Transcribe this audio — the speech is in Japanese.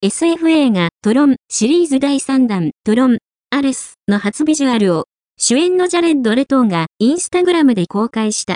SF 映画トロンシリーズ第3弾トロンアレスの初ビジュアルを主演のジャレッド・レトーがインスタグラムで公開した。